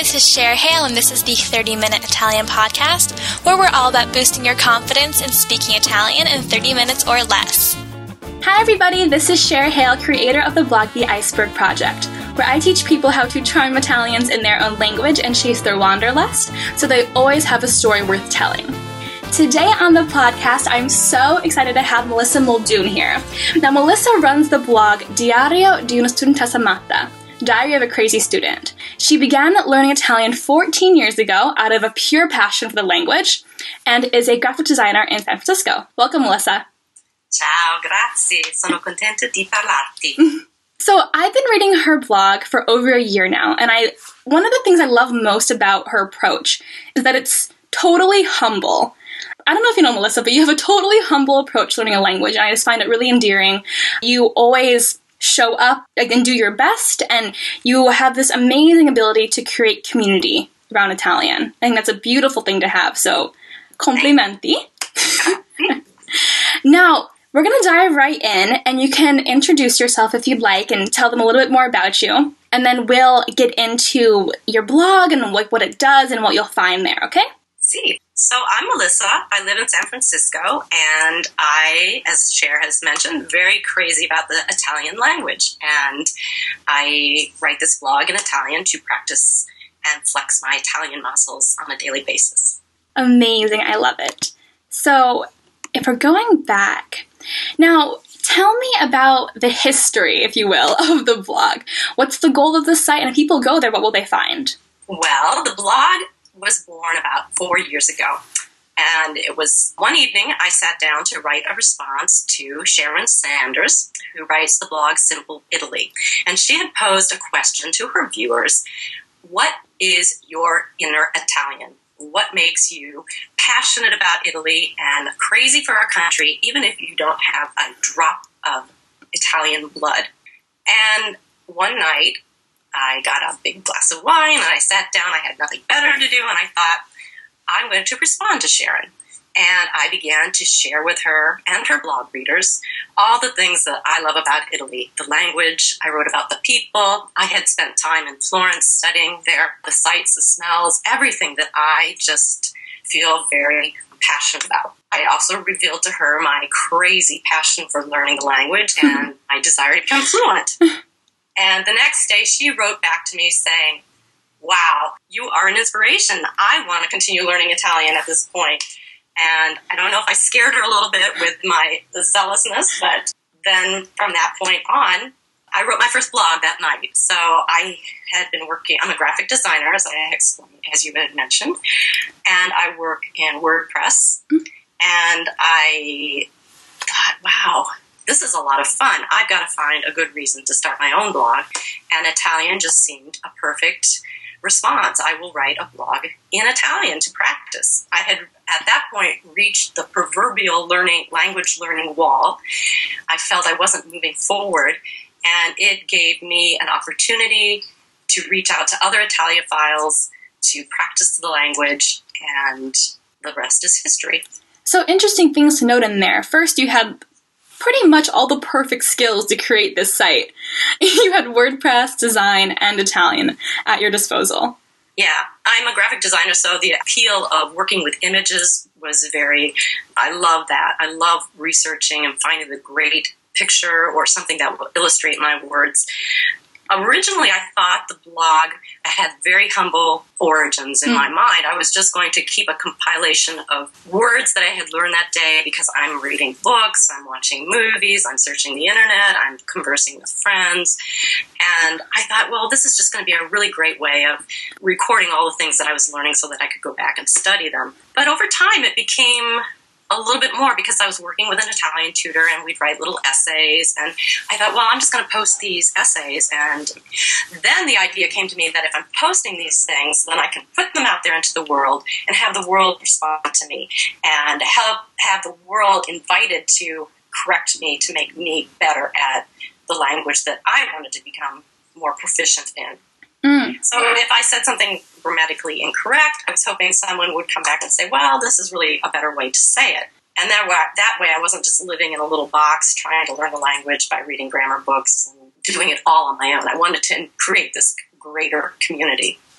this is Cher Hale, and this is the 30-Minute Italian Podcast, where we're all about boosting your confidence in speaking Italian in 30 minutes or less. Hi everybody, this is Cher Hale, creator of the blog The Iceberg Project, where I teach people how to charm Italians in their own language and chase their wanderlust, so they always have a story worth telling. Today on the podcast, I'm so excited to have Melissa Muldoon here. Now, Melissa runs the blog Diario di una studentessa matta, Diary of a Crazy Student. She began learning Italian 14 years ago out of a pure passion for the language and is a graphic designer in San Francisco. Welcome, Melissa. Ciao, grazie. Sono contenta di parlarti. So I've been reading her blog for over a year now, and one of the things I love most about her approach is that it's totally humble. I don't know if you know, Melissa, but you have a totally humble approach to learning a language, and I just find it really endearing. You always show up and do your best, and you have this amazing ability to create community around Italian. I think that's a beautiful thing to have, so complimenti. Now, we're going to dive right in, and you can introduce yourself if you'd like and tell them a little bit more about you, and then we'll get into your blog and what it does and what you'll find there, okay? See. So I'm Melissa. I live in San Francisco, and I, as Cher has mentioned, very crazy about the Italian language. And I write this blog in Italian to practice and flex my Italian muscles on a daily basis. Amazing. I love it. So if we're going back, now tell me about the history, if you will, of the blog. What's the goal of the site? And if people go there, what will they find? Well, the blog was born about 4 years ago. And it was one evening I sat down to write a response to Sharon Sanders, who writes the blog Simple Italy. And she had posed a question to her viewers. What is your inner Italian? What makes you passionate about Italy and crazy for our country, even if you don't have a drop of Italian blood? And one night, I got a big glass of wine, and I sat down. I had nothing better to do, and I thought, I'm going to respond to Sharon. And I began to share with her and her blog readers all the things that I love about Italy. The language, I wrote about the people. I had spent time in Florence studying there, the sights, the smells, everything that I just feel very passionate about. I also revealed to her my crazy passion for learning the language and my desire to become fluent. And the next day, she wrote back to me saying, wow, you are an inspiration. I want to continue learning Italian at this point. And I don't know if I scared her a little bit with the zealousness, but then from that point on, I wrote my first blog that night. So I had been working, I'm a graphic designer, as I explained, as you had mentioned, and I work in WordPress. And I thought, wow, this is a lot of fun. I've got to find a good reason to start my own blog. And Italian just seemed a perfect response. I will write a blog in Italian to practice. I had, at that point, reached the proverbial language learning wall. I felt I wasn't moving forward, and it gave me an opportunity to reach out to other Italiophiles, to practice the language, and the rest is history. So interesting things to note in there. First, you had pretty much all the perfect skills to create this site. You had WordPress, design, and Italian at your disposal. Yeah, I'm a graphic designer, so the appeal of working with images was I love that. I love researching and finding the great picture or something that will illustrate my words. Originally, I thought the blog had very humble origins in my mind. I was just going to keep a compilation of words that I had learned that day because I'm reading books, I'm watching movies, I'm searching the internet, I'm conversing with friends. And I thought, well, this is just going to be a really great way of recording all the things that I was learning so that I could go back and study them. But over time, it became a little bit more because I was working with an Italian tutor and we'd write little essays, and I thought, well, I'm just going to post these essays. And then the idea came to me that if I'm posting these things, then I can put them out there into the world and have the world respond to me and have the world invited to correct me, to make me better at the language that I wanted to become more proficient in. So if I said something grammatically incorrect, I was hoping someone would come back and say, well, this is really a better way to say it. And that way I wasn't just living in a little box trying to learn the language by reading grammar books and doing it all on my own. I wanted to create this greater community.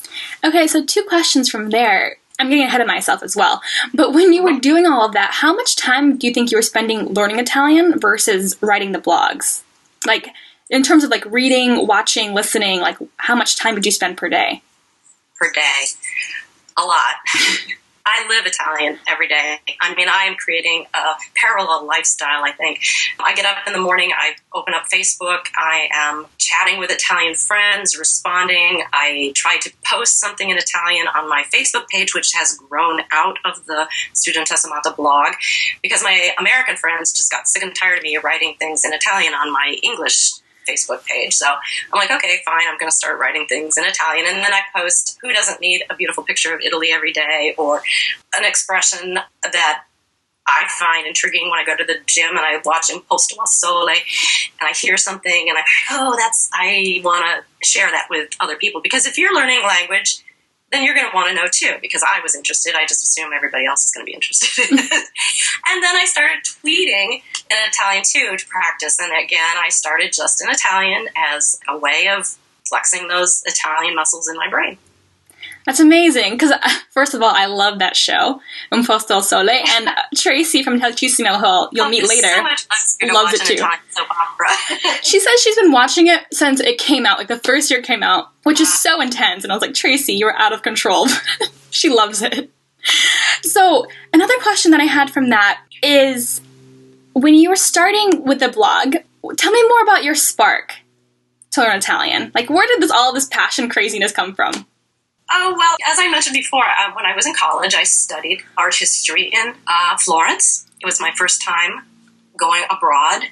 Okay, so 2 questions from there. I'm getting ahead of myself as well. But when you were doing all of that, how much time do you think you were spending learning Italian versus writing the blogs? Like, in terms of like reading, watching, listening, like how much time would you spend per day? Per day? A lot. I live Italian every day. I mean, I am creating a parallel lifestyle, I think. I get up in the morning, I open up Facebook, I am chatting with Italian friends, responding. I try to post something in Italian on my Facebook page, which has grown out of the Studentessa Matta blog, because my American friends just got sick and tired of me writing things in Italian on my English Facebook page. So I'm like, okay, fine, I'm going to start writing things in Italian. And then I post, who doesn't need a beautiful picture of Italy every day, or an expression that I find intriguing when I go to the gym and I watch Imposto al Sole and I hear something and I want to share that with other people. Because if you're learning language, then you're going to want to know too, because I was interested. I just assume everybody else is going to be interested in it. And then I started tweeting in Italian too to practice. And again, I started just in Italian as a way of flexing those Italian muscles in my brain. That's amazing, because first of all, I love that show, Un Posto al Sole, and Tracy from Tantissimo, who you'll meet later, so much loves it too. Soap opera. She says she's been watching it since it came out, like the first year it came out, which is so intense, and I was like, Tracy, you were out of control. She loves it. So, another question that I had from that is, when you were starting with the blog, tell me more about your spark to learn Italian. Like, where did all this passion craziness come from? Oh, well, as I mentioned before, when I was in college, I studied art history in Florence. It was my first time going abroad.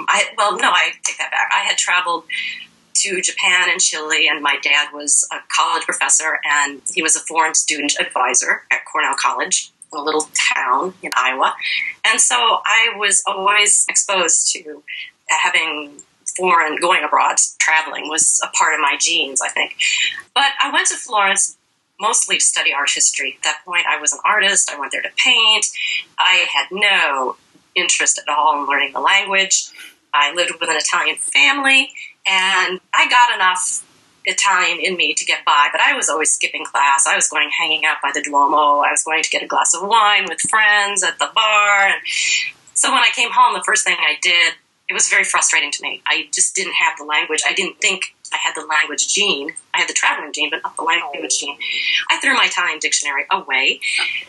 I take that back. I had traveled to Japan and Chile, and my dad was a college professor, and he was a foreign student advisor at Cornell College in a little town in Iowa. And so I was always exposed to having going abroad, traveling was a part of my genes, I think. But I went to Florence mostly to study art history. At that point, I was an artist. I went there to paint. I had no interest at all in learning the language. I lived with an Italian family, and I got enough Italian in me to get by, but I was always skipping class. I was hanging out by the Duomo. I was going to get a glass of wine with friends at the bar. And so when I came home, the first thing I did, it was very frustrating to me. I just didn't have the language. I didn't think I had the language gene. I had the traveling gene, but not the language gene. I threw my Italian dictionary away.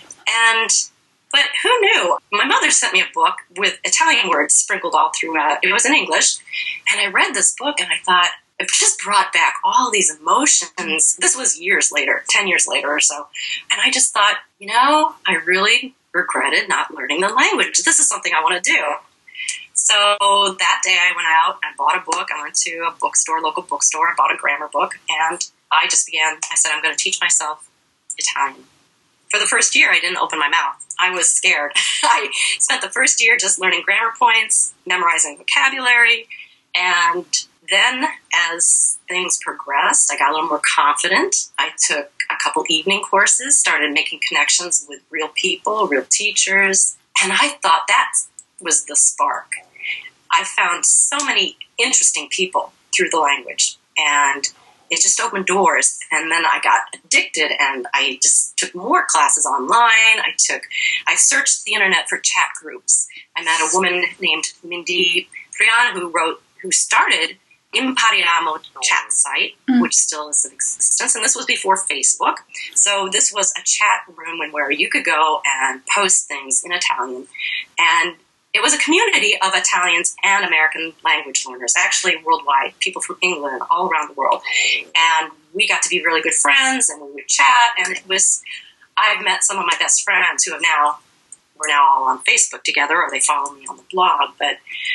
But who knew? My mother sent me a book with Italian words sprinkled all throughout. It was in English. And I read this book and I thought, it just brought back all these emotions. This was years later, 10 years later or so. And I just thought, I really regretted not learning the language. This is something I want to do. So that day I went out, I bought a book. I went to a bookstore, local bookstore. I bought a grammar book, and I said, I'm going to teach myself Italian. For the first year, I didn't open my mouth. I was scared. I spent the first year just learning grammar points, memorizing vocabulary, and then as things progressed, I got a little more confident. I took a couple evening courses, started making connections with real people, real teachers, and I thought that was the spark. I found so many interesting people through the language, and it just opened doors. And then I got addicted, and I just took more classes online. I searched the internet for chat groups. I met a woman named Mindy Prian who started Impariamo chat site, which still is in existence, and this was before Facebook. So this was a chat room where you could go and post things in Italian, and it was a community of Italians and American language learners, actually worldwide, people from England, all around the world. And we got to be really good friends, and we would chat, and I've met some of my best friends who we're now all on Facebook together, or they follow me on the blog, but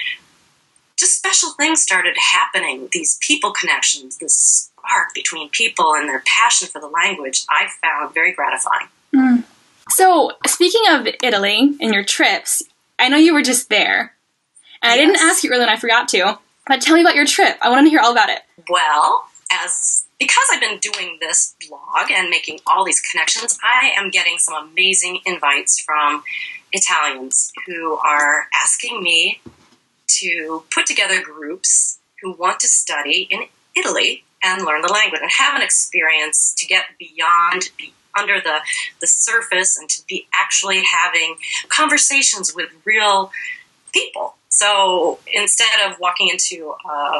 just special things started happening, these people connections, this spark between people and their passion for the language, I found very gratifying. Mm. So, speaking of Italy and your trips, I know you were just there, and I didn't ask you earlier and I forgot to, but tell me about your trip. I want to hear all about it. Well, because I've been doing this blog and making all these connections, I am getting some amazing invites from Italians who are asking me to put together groups who want to study in Italy and learn the language and have an experience to get beyond, under the surface, and to be actually having conversations with real people. So instead of walking into a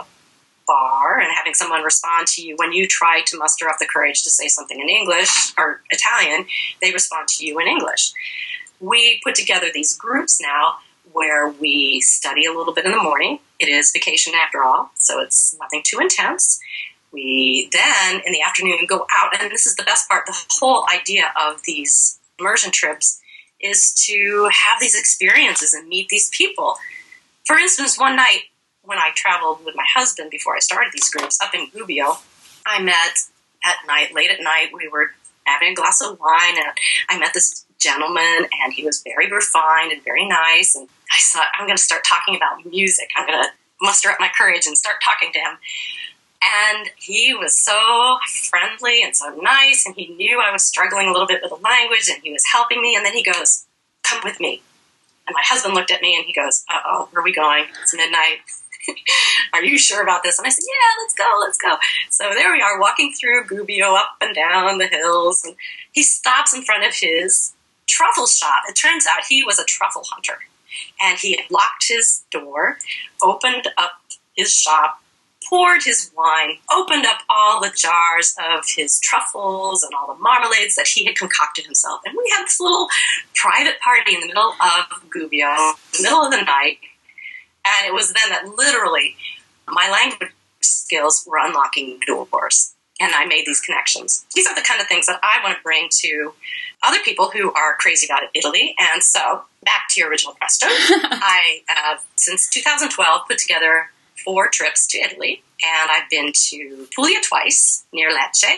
bar and having someone respond to you when you try to muster up the courage to say something in English or Italian, they respond to you in English. We put together these groups now where we study a little bit in the morning. It is vacation after all, so it's nothing too intense. We then, in the afternoon, go out, and this is the best part. The whole idea of these immersion trips is to have these experiences and meet these people. For instance, one night when I traveled with my husband before I started these groups up in Gubbio, I met late at night, we were having a glass of wine, and I met this gentleman, and he was very refined and very nice, and I thought, I'm going to start talking about music. I'm going to muster up my courage and start talking to him. And he was so friendly and so nice, and he knew I was struggling a little bit with the language, and he was helping me, and then he goes, come with me. And my husband looked at me, and he goes, uh-oh, where are we going? It's midnight. Are you sure about this? And I said, yeah, let's go. So there we are, walking through Gubbio, up and down the hills, and he stops in front of his truffle shop. It turns out he was a truffle hunter, and he had locked his door, opened up his shop, poured his wine, opened up all the jars of his truffles and all the marmalades that he had concocted himself. And we had this little private party in the middle of Gubbio, in the middle of the night. And it was then that literally my language skills were unlocking doors. And I made these connections. These are the kind of things that I want to bring to other people who are crazy about Italy. And so, back to your original question. I have, since 2012, put together 4 trips to Italy. And I've been to Puglia twice, near Lecce,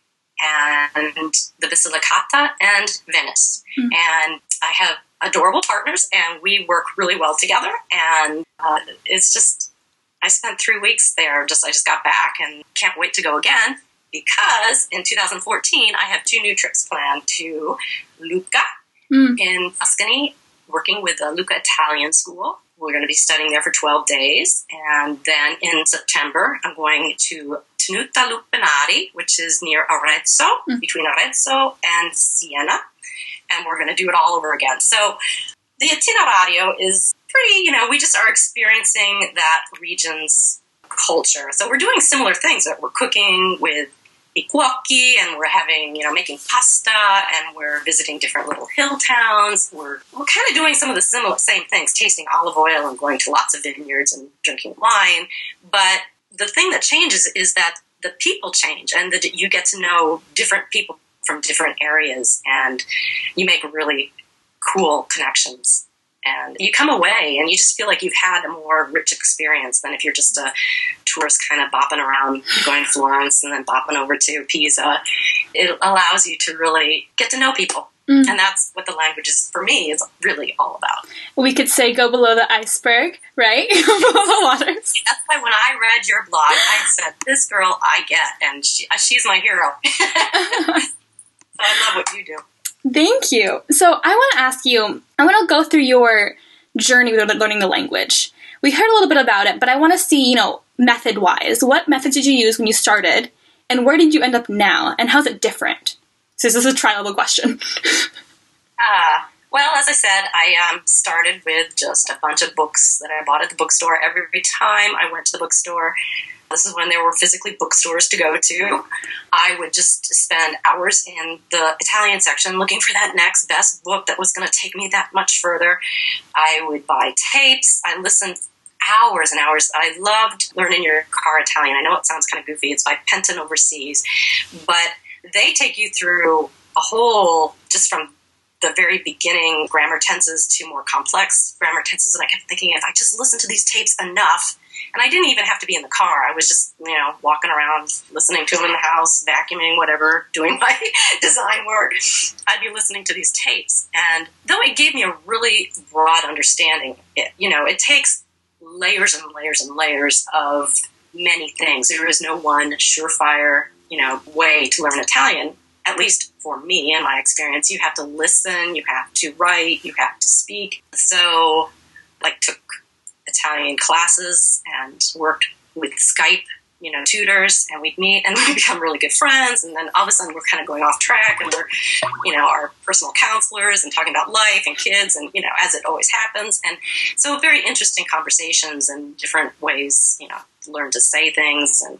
and the Basilicata, and Venice. And I have adorable partners, and we work really well together. And it's just, I spent 3 weeks there. I just got back and can't wait to go again, because in 2014 I have 2 new trips planned to Lucca in Tuscany, working with the Lucca Italian School. We're going to be studying there for 12 days. And then in September, I'm going to Tenuta Lupinari, which is near Arezzo, between Arezzo and Siena. And we're going to do it all over again. So the itinerario is pretty, we just are experiencing that region's culture. So we're doing similar things. We're cooking with i cuochi, and we're having, making pasta, and we're visiting different little hill towns. We're kind of doing some of the same things, tasting olive oil and going to lots of vineyards and drinking wine. But the thing that changes is that the people change, and that you get to know different people from different areas, and you make really cool connections. And you come away and you just feel like you've had a more rich experience than if you're just a tourist kind of bopping around, going to Florence and then bopping over to Pisa. It allows you to really get to know people. And that's what the language is, for me, is really all about. We could say go below the iceberg, right? Below the waters. That's why when I read your blog, I said, this girl I get, and she's my hero. So I love what you do. Thank you. So I want to ask you, I want to go through your journey with learning the language. We heard a little bit about it, but I want to see, method-wise, what methods did you use when you started, and where did you end up now, and how's it different? So this is a tri-level question. Well, as I said, I started with just a bunch of books that I bought at the bookstore. Every time I went to the bookstore, this is when there were physically bookstores to go to, I would just spend hours in the Italian section looking for that next best book that was going to take me that much further. I would buy tapes. I listened hours and hours. I loved Learning Your Car Italian. I know it sounds kind of goofy. It's by Penton Overseas. But they take you through a whole, just from the very beginning, grammar tenses to more complex grammar tenses. And I kept thinking, if I just listen to these tapes enough, and I didn't even have to be in the car. I was just, walking around, listening to them in the house, vacuuming, whatever, doing my design work. I'd be listening to these tapes. And though it gave me a really broad understanding, it takes layers and layers and layers of many things. There is no one surefire, way to learn Italian, at least for me in my experience. You have to listen, you have to write, you have to speak. So, took Italian classes and worked with Skype tutors, and we'd meet and we'd become really good friends. And then all of a sudden we're kind of going off track, and we're, our personal counselors and talking about life and kids and, as it always happens. And so very interesting conversations and different ways, learn to say things. And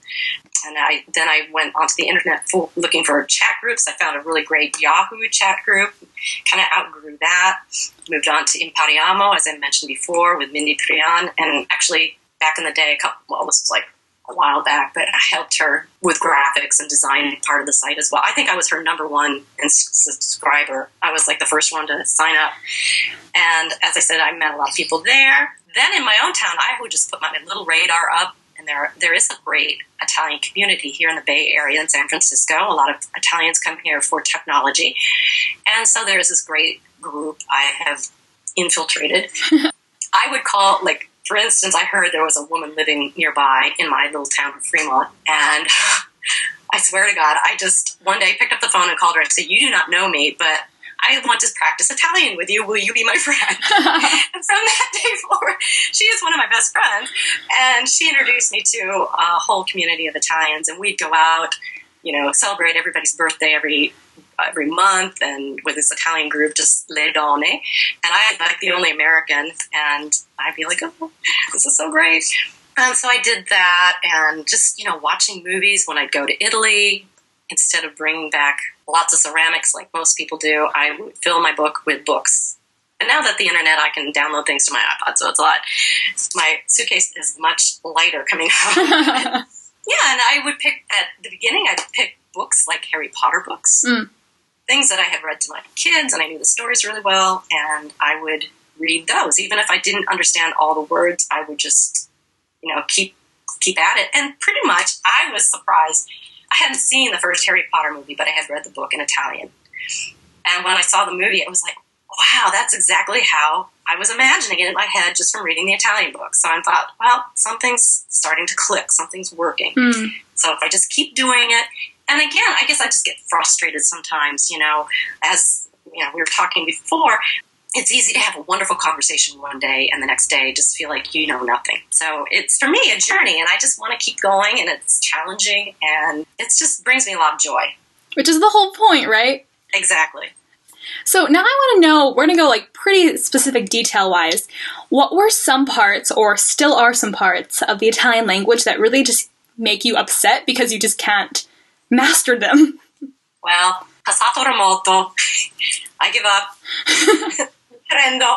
I went onto the internet looking for chat groups. I found a really great Yahoo chat group, kind of outgrew that, moved on to Impariamo, as I mentioned before, with Mindy Prian. And actually back in the day, this was like a while back, but I helped her with graphics and designing part of the site as well. I think I was her number one subscriber. I was like the first one to sign up. And as I said, I met a lot of people there. Then in my own town, I would just put my little radar up, and there is a great Italian community here in the Bay Area in San Francisco. A lot of Italians come here for technology. And so there's this great group I have infiltrated. I would call, for instance, I heard there was a woman living nearby in my little town of Fremont, and I swear to God, I just one day picked up the phone and called her and said, "You do not know me, but I want to practice Italian with you. Will you be my friend?" And from that day forward, she is one of my best friends, and she introduced me to a whole community of Italians, and we'd go out, celebrate everybody's birthday every month, and with this Italian group, just Le Donne, and I'm like the only American, and I'd be like, "Oh, this is so great." And so I did that, and just, watching movies when I'd go to Italy, instead of bringing back lots of ceramics like most people do, I would fill my book with books. And now that the internet, I can download things to my iPod, so it's a lot. My suitcase is much lighter coming out. Yeah, and I would pick, at the beginning, I'd pick books like Harry Potter books, things that I had read to my kids, and I knew the stories really well, and I would read those. Even if I didn't understand all the words, I would just, keep at it. And pretty much, I was surprised. I hadn't seen the first Harry Potter movie, but I had read the book in Italian. And when I saw the movie, it was like, wow, that's exactly how I was imagining it in my head just from reading the Italian book. So I thought, well, something's starting to click. Something's working. So if I just keep doing it, and again, I guess I just get frustrated sometimes, as we were talking before, it's easy to have a wonderful conversation one day and the next day just feel like you know nothing. So it's, for me, a journey, and I just want to keep going, and it's challenging, and it just brings me a lot of joy. Which is the whole point, right? Exactly. So now I want to know, we're going to go pretty specific detail-wise, what were some parts, or still are some parts, of the Italian language that really just make you upset because you just can't master them? Well, passato remoto. I give up. Prendo.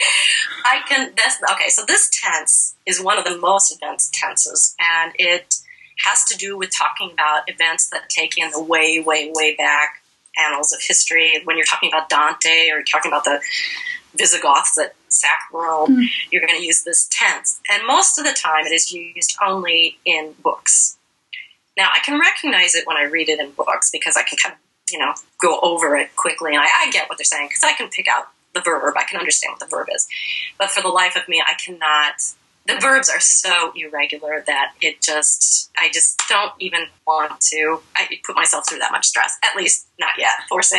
Okay, so this tense is one of the most advanced tenses, and it has to do with talking about events that take in the way, way, way back annals of history. When you're talking about Dante, or you're talking about the Visigoths that sacked Rome, you're going to use this tense. And most of the time it is used only in books. Now, I can recognize it when I read it in books because I can kind of, go over it quickly, and I get what they're saying because I can pick out the verb. I can understand what the verb is. But for the life of me, I cannot. The verbs are so irregular that I just don't even want to put myself through that much stress. At least not yet. Forse.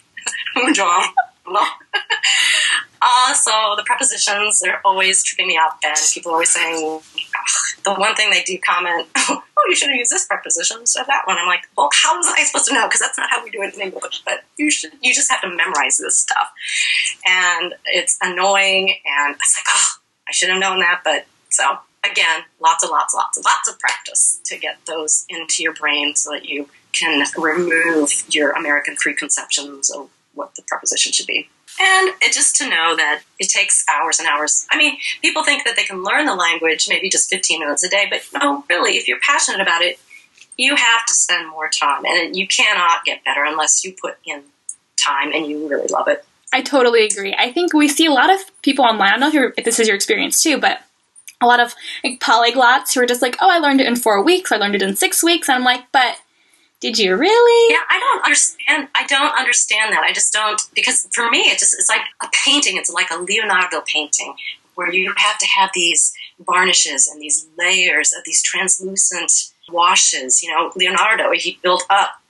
So the prepositions, they're always tripping me up, and people are always saying, the one thing they do comment, oh, you should have used this preposition instead of that one. I'm like, well, how was I supposed to know? Because that's not how we do it in English. But you just have to memorize this stuff. And it's annoying, and it's like, oh, I should have known that. But so, again, lots of practice to get those into your brain so that you can remove your American preconceptions of what the preposition should be. And just to know that it takes hours and hours. I mean, people think that they can learn the language maybe just 15 minutes a day, but no, really, if you're passionate about it, you have to spend more time. And you cannot get better unless you put in time and you really love it. I totally agree. I think we see a lot of people online, I don't know if this is your experience too, but a lot of polyglots who are just like, oh, I learned it in 4 weeks, I learned it in 6 weeks, and I'm like, but did you really? Yeah, I don't understand that. I just don't, because for me, it's like a painting. It's like a Leonardo painting where you have to have these varnishes and these layers of these translucent washes. Leonardo, he built up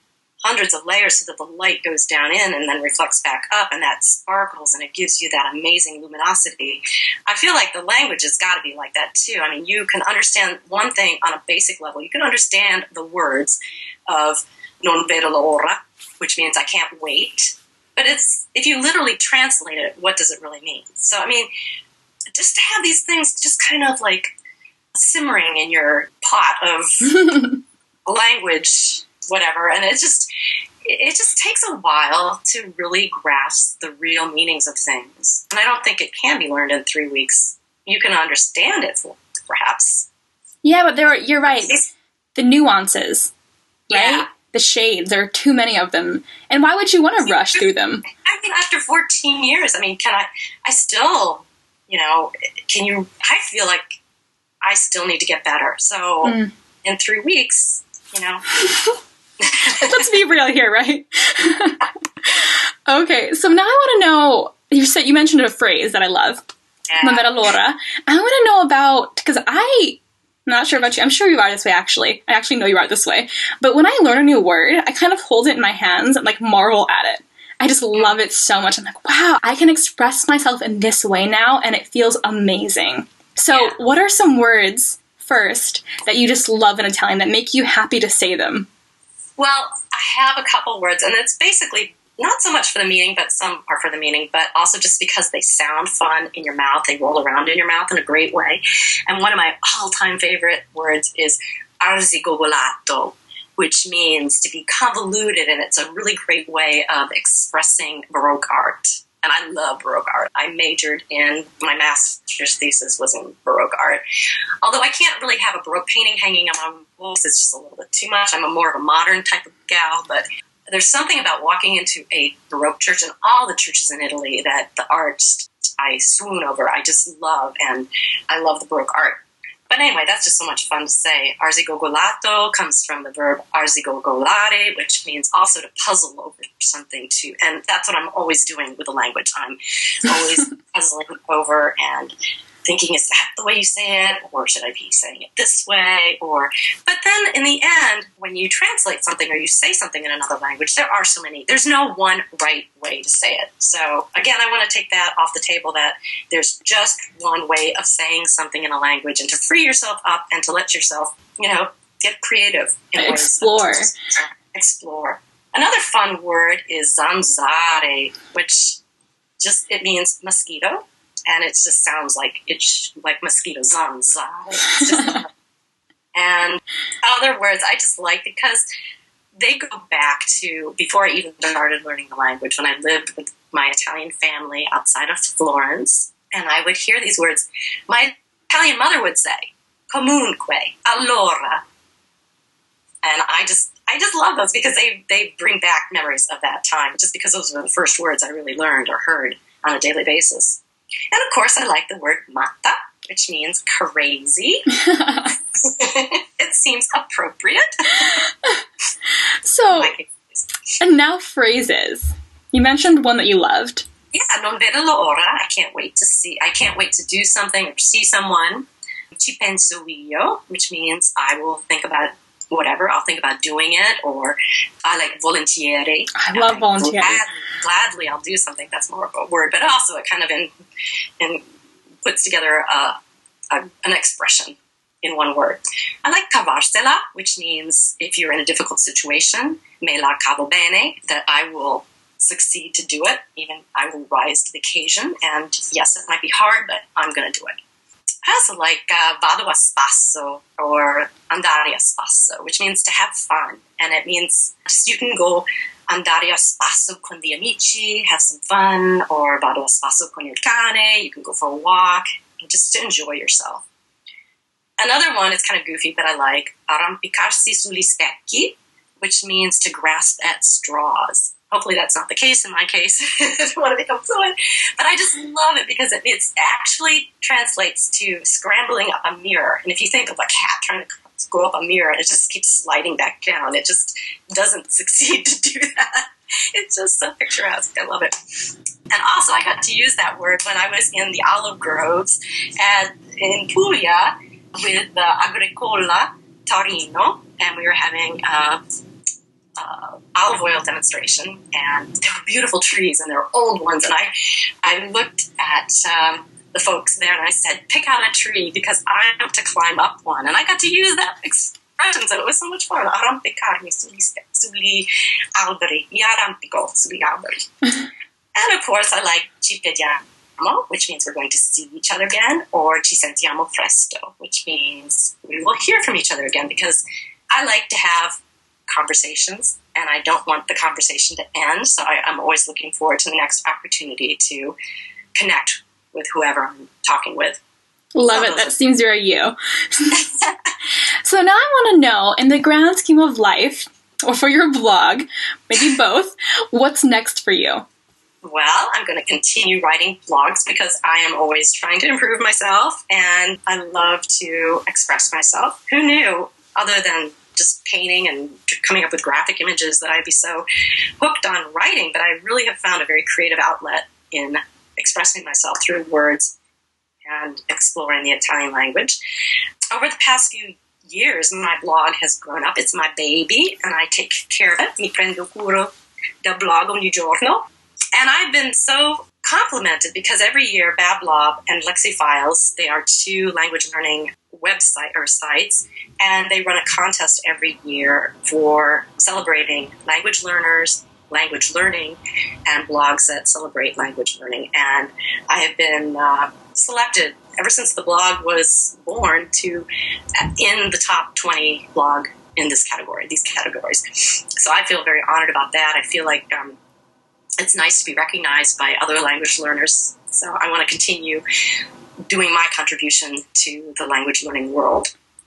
hundreds of layers so that the light goes down in and then reflects back up, and that sparkles and it gives you that amazing luminosity. I feel like the language has got to be like that too. I mean, you can understand one thing on a basic level. You can understand the words of non vedo l'ora, which means I can't wait. But it's, if you literally translate it, what does it really mean? So, I mean, just to have these things just kind of like simmering in your pot of language, whatever, and it just takes a while to really grasp the real meanings of things. And I don't think it can be learned in 3 weeks. You can understand it, perhaps. Yeah, but you're right. The nuances, right? Yeah. The shades, there are too many of them. And why would you want to rush through them? I mean, after 14 years, I mean, I still, I feel like I still need to get better. So in 3 weeks, Let's be real here, right? Okay, so now I want to know, you mentioned a phrase that I love, non vedo l'ora. I want to know about, because I'm not sure about you, I'm sure you are this way actually. I actually know you are this way. But when I learn a new word, I kind of hold it in my hands and like marvel at it. I just love it so much. I'm like, wow, I can express myself in this way now, and it feels amazing. So what are some words, first, that you just love in Italian that make you happy to say them? Well, I have a couple words, and it's basically not so much for the meaning, but some are for the meaning, but also just because they sound fun in your mouth. They roll around in your mouth in a great way. And one of my all-time favorite words is arzigogolato, which means to be convoluted, and it's a really great way of expressing Baroque art. And I love Baroque art. I majored in, my master's thesis was in Baroque art. Although I can't really have a Baroque painting hanging on my walls, it's just a little bit too much. I'm more of a modern type of gal, but there's something about walking into a Baroque church, and all the churches in Italy, that the art just, I swoon over. I just love, and I love the Baroque art. But anyway, that's just so much fun to say. Arzigogolato comes from the verb arzigogolare, which means also to puzzle over something too. And that's what I'm always doing with the language. I'm always puzzling over and thinking, is that the way you say it? Or should I be saying it this way? But then in the end, when you translate something or you say something in another language, there are so many. There's no one right way to say it. So again, I want to take that off the table, that there's just one way of saying something in a language, and to free yourself up and to let yourself, get creative. Explore. Explore. Another fun word is zanzare, which it means mosquito. And it just sounds like mosquito, zanzare. And other words I just like because they go back to before I even started learning the language, when I lived with my Italian family outside of Florence, and I would hear these words. My Italian mother would say, comunque, allora. And I just love those because they bring back memories of that time, just because those were the first words I really learned or heard on a daily basis. And of course, I like the word matta, which means crazy. It seems appropriate. So, and now phrases. You mentioned one that you loved. Yeah, non vedo l'ora. I can't wait to do something or see someone. Ci penso io, which means I will think about whatever. I'll think about doing it, or I like volentieri. I love volentieri. Gladly, I'll do something. That's more of a word, but also it kind of puts together an expression in one word. I like cavarsela, which means if you're in a difficult situation, me la cavo bene, that I will succeed to do it. Even I will rise to the occasion. And yes, it might be hard, but I'm going to do it. I also like vado a spasso or andare a spasso, which means to have fun. And it means just you can go andare a spasso con gli amici, have some fun, or vado a spasso con il cane, you can go for a walk, and just to enjoy yourself. Another one is kind of goofy, but I like arrampicarsi sugli specchi, which means to grasp at straws. Hopefully that's not the case in my case. I don't want to become fluent. But I just love it because it actually translates to scrambling up a mirror. And if you think of a cat trying to go up a mirror and it just keeps sliding back down, it just doesn't succeed to do that. It's just so picturesque. I love it. And also I got to use that word when I was in the olive groves in Puglia with the Agricola Torino. And we were having olive oil demonstration, and there were beautiful trees, and there were old ones, and I looked at the folks there, and I said, pick out a tree, because I want to climb up one, and I got to use that expression, so it was so much fun. Arrampicarmi sugli alberi, mi arrampico sugli alberi. And of course, I like ci vediamo, which means we're going to see each other again, or ci sentiamo presto, which means we will hear from each other again, because I like to have conversations, and I don't want the conversation to end, so I'm always looking forward to the next opportunity to connect with whoever I'm talking with. Love it. That seems very you. So now I want to know, in the grand scheme of life, or for your blog, maybe both, what's next for you? Well, I'm going to continue writing blogs because I am always trying to improve myself, and I love to express myself. Who knew, other than just painting and coming up with graphic images, that I'd be so hooked on writing, but I really have found a very creative outlet in expressing myself through words and exploring the Italian language. Over the past few years, my blog has grown up. It's my baby, and I take care of it. Mi prendo cura del blog ogni giorno. And I've been so complimented because every year Bablob and Lexifiles, they are two language learning website or sites, and they run a contest every year for celebrating language learners, language learning, and blogs that celebrate language learning. And I have been selected ever since the blog was born to in the top 20 blog in these categories. So I feel very honored about that. I feel like it's nice to be recognized by other language learners. So I want to continue doing my contribution to the language learning world.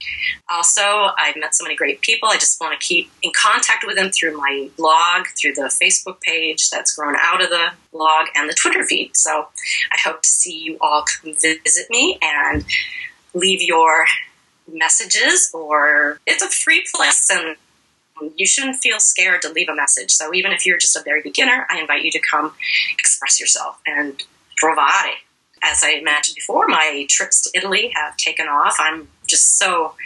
Also, I've met so many great people. I just want to keep in contact with them through my blog, through the Facebook page that's grown out of the blog, and the Twitter feed. So I hope to see you all come visit me and leave your messages, or it's a free place, and you shouldn't feel scared to leave a message. So even if you're just a very beginner, I invite you to come express yourself and provare. As I mentioned before, my trips to Italy have taken off. I'm just so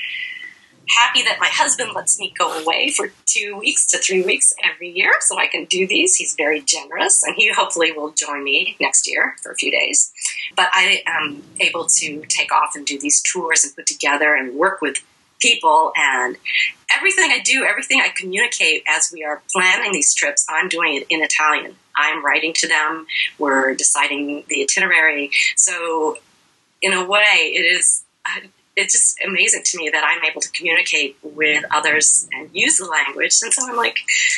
happy that my husband lets me go away for 2 weeks to 3 weeks every year so I can do these. He's very generous, and he hopefully will join me next year for a few days. But I am able to take off and do these tours and put together and work with people, and everything I do, everything I communicate as we are planning these trips, I'm doing it in Italian. I'm writing to them. We're deciding the itinerary. So in a way, it's just amazing to me that I'm able to communicate with others and use the language. And so I'm like,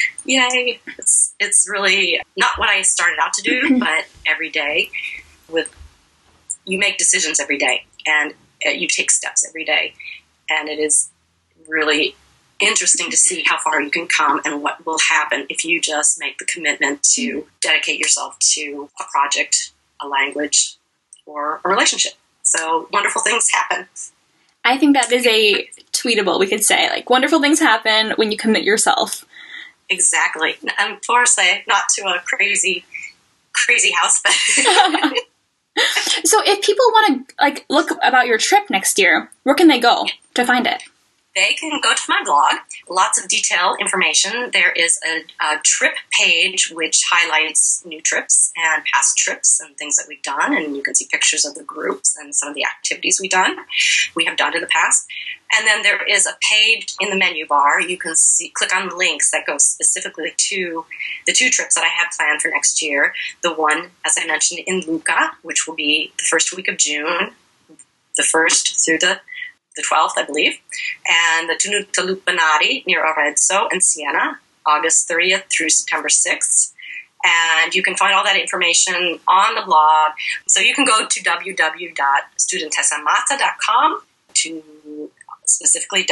yay. It's really not what I started out to do, but every day you make decisions every day, and you take steps every day. And it is really interesting to see how far you can come and what will happen if you just make the commitment to dedicate yourself to a project, a language, or a relationship. So wonderful things happen. I think that is a tweetable, we could say. Like, wonderful things happen when you commit yourself. Exactly. And forse, not to a crazy house, but... So if people want to look about your trip next year, where can they go to find it? They can go to my blog. Lots of detailed information. There is a trip page which highlights new trips and past trips and things that we've done, and you can see pictures of the groups and some of the activities we have done in the past. And then there is a page in the menu bar. You can click on links that go specifically to the 2 trips that I have planned for next year. The one, as I mentioned, in Lucca, which will be the first week of June, the 1st through the 12th, I believe, and the Tenuta Lupanari near Arezzo and Siena, August 30th through September 6th. And you can find all that information on the blog. So you can go to www.studentessamata.com to specifically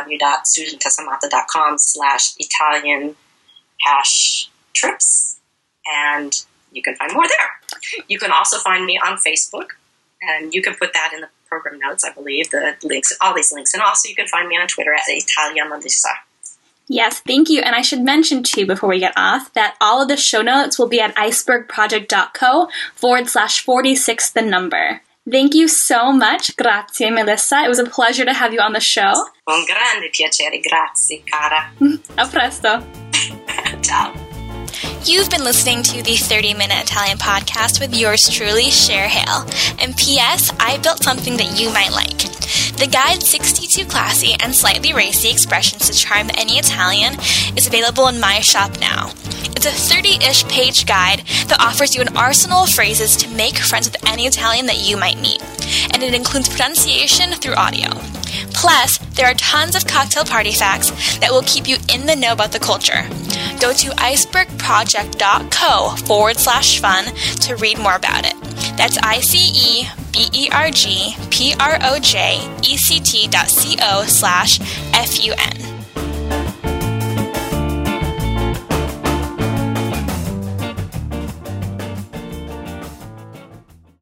www.studentessamata.com/Italian-trips, and you can find more there. You can also find me on Facebook, and you can put that in the program notes, I believe, the links, all these links. And also you can find me on Twitter at Italia Melissa. Yes, thank you. And I should mention, too, before we get off, that all of the show notes will be at icebergproject.co/46 the number. Thank you so much. Grazie, Melissa. It was a pleasure to have you on the show. Un grande piacere. Grazie, cara. A presto. out. You've been listening to the 30-Minute Italian Podcast with yours truly, Cher Hale. And P.S., I built something that you might like. The guide 62 Classy and Slightly Racy Expressions to Charm Any Italian is available in my shop now. It's a 30-ish page guide that offers you an arsenal of phrases to make friends with any Italian that you might meet. And it includes pronunciation through audio. Plus, there are tons of cocktail party facts that will keep you in the know about the culture. Go to icebergproject.co/fun to read more about it. That's icebergproject.co/fun.